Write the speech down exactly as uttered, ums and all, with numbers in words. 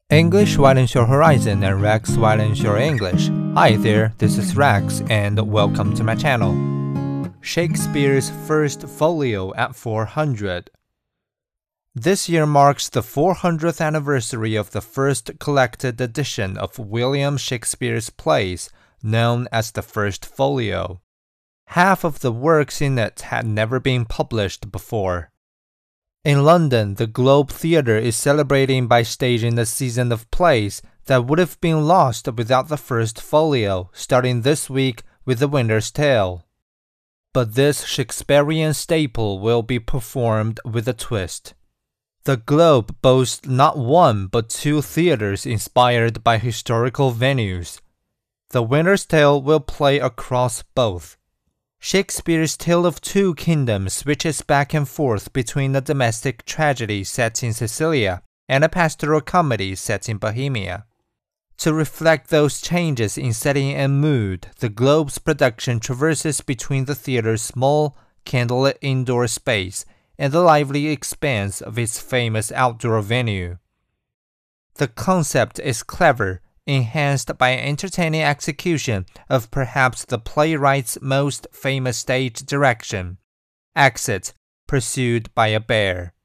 English widens your horizon and Rex widens your English. Hi there, this is Rex and welcome to my channel. Shakespeare's First Folio at four hundred. This year marks the four hundredth anniversary of the first collected edition of William Shakespeare's plays, known as the First Folio. Half of the works in it had never been published before. In London, the Globe Theatre is celebrating by staging a season of plays that would have been lost without the First Folio, starting this week with The Winter's Tale. But this Shakespearean staple will be performed with a twist. The Globe boasts not one but two theatres inspired by historical venues. The Winter's Tale will play across both. Shakespeare's Tale of Two Kingdoms switches back and forth between a domestic tragedy set in Sicilia and a pastoral comedy set in Bohemia. To reflect those changes in setting and mood, the Globe's production traverses between the theatre's small, candlelit indoor space and the lively expanse of its famous outdoor venue. The concept is clever, enhanced by an entertaining execution of perhaps the playwright's most famous stage direction, Exit, pursued by a bear.